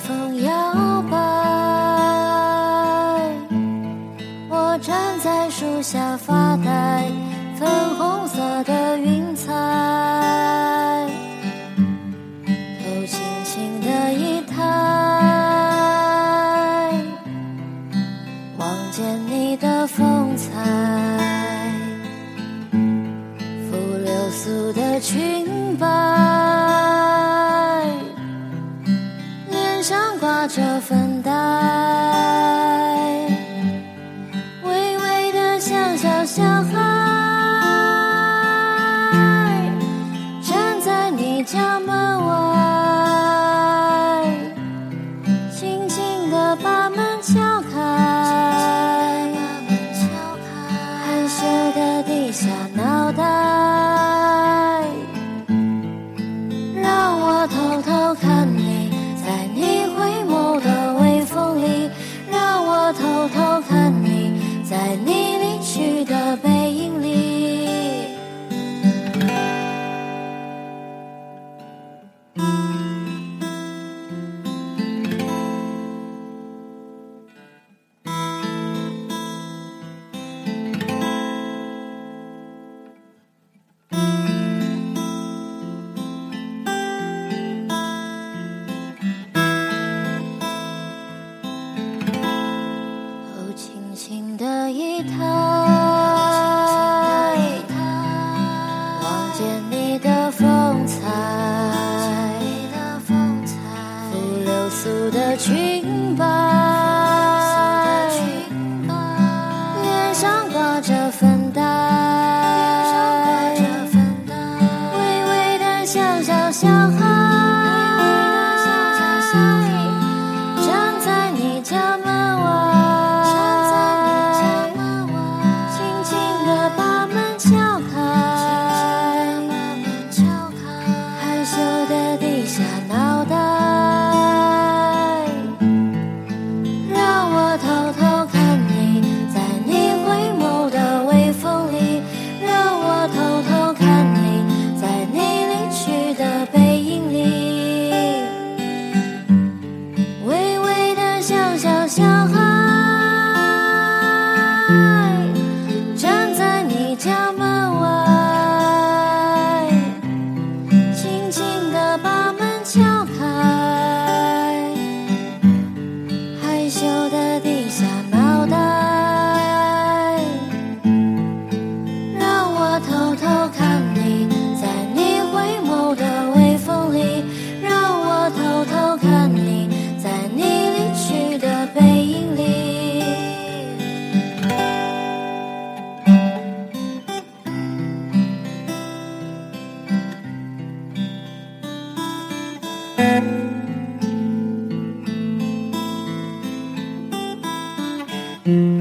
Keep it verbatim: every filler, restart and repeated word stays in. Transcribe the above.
风摇摆，我站在树下发呆，粉红色的云彩头轻轻的一抬，望见你的风采，拂流苏的裙摆，脸上挂着粉黛，微微的像小小孩，站在你家门外，轻轻地把门敲开，害羞地低下脑袋，让我偷偷看你，在你回眸的微风里，让我偷偷看你，在你离去的背影里。头轻轻的一抬，望见你的风采，拂流苏的裙摆，脸上挂着粉黛，微微的像小小孩，站在你家门外，轻轻地把门敲开，害羞地低下脑袋，让我偷偷看你，在你回眸的微风里，让我偷偷看你，在你离去的背影里，微微的像小小孩，站在你家门外，轻轻地把门敲开，害羞地低下脑袋，让我偷偷看你，在你回眸的微风里，让我偷偷看你，在你离去的背影里。嗯